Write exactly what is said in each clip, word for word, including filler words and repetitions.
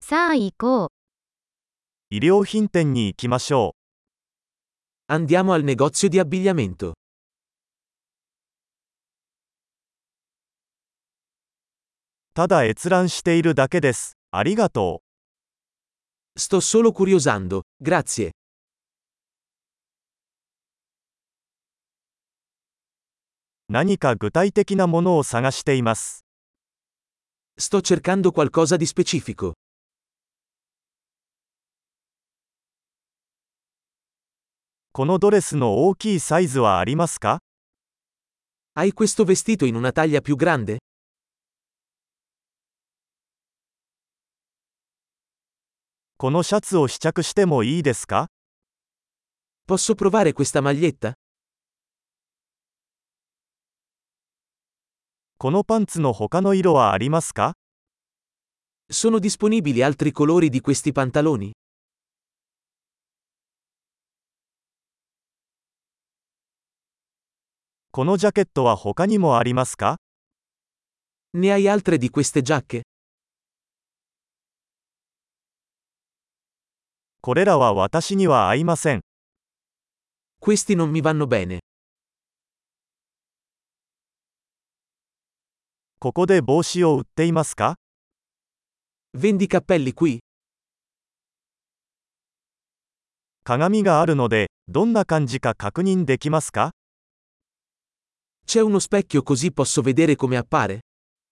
さあ行こう。 衣料品店に行きましょ Andiamo al negozio di abbigliamento. う。ただ閲覧しているだけです。ありがと Sto solo curiosando, grazie. う。何か具体的なものを探しています。 Sto cercando qualcosa di specifico. このドレスの大きいサイズはありますか？ Hai questo vestito in una taglia più grande? このシャツを試着してもいいですか？ Posso provare questa maglietta? このパンツの他の色はありますか？ Sono disponibili altri colori di questi pantaloni? このジャケットは他にもありますか？ Ne hai altre di queste giacche? これらは私には合いません。 Questi non mi vanno bene. ここで帽子を売っていますか？ Vendi cappelli qui? 鏡があるので、どんな感じか確認できますか？ C'è uno specchio così posso vedere come appare?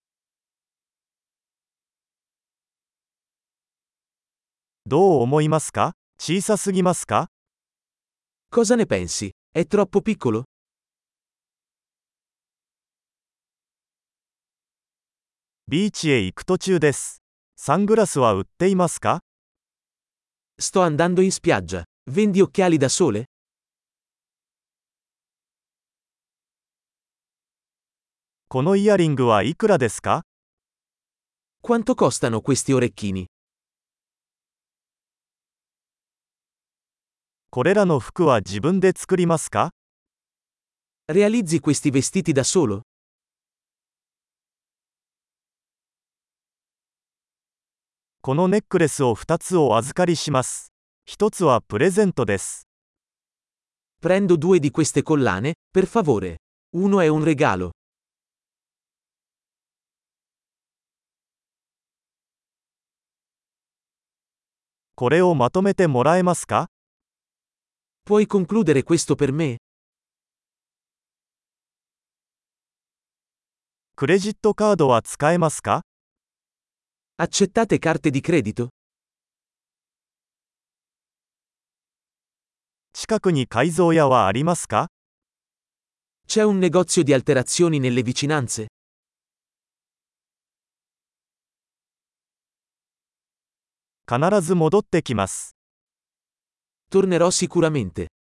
どう思いますか？小さすぎますか？ Cosa ne pensi? È troppo piccolo? ビーチへ行く途中です。サングラスは売っていますか？ Sto andando in spiaggia. Vendi occhiali da sole? このイヤリングはいくらですか？ Quanto costano questi orecchini? これらの服は自分で作りますか？ Realizzi questi vestiti da solo? このネックレスをふたつお預かりします。ひとつはプレゼントです。 Prendo due di queste collane, per favore. Uno è un regalo. これをまとめてもらえますか？ Puoi concludere questo per me? クレジットカードは使えますか？ Accettate carte di credito? 近くに改造屋はありますか？ C'è un negozio di alterazioni nelle vicinanze? 必ず戻ってきます。 Tornerò sicuramente.